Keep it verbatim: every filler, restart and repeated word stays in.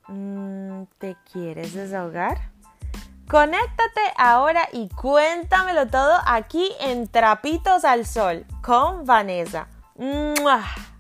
Mm, ¿Te quieres desahogar? Conéctate ahora y cuéntamelo todo aquí en Trapitos al Sol con Vanessa. ¡Mua!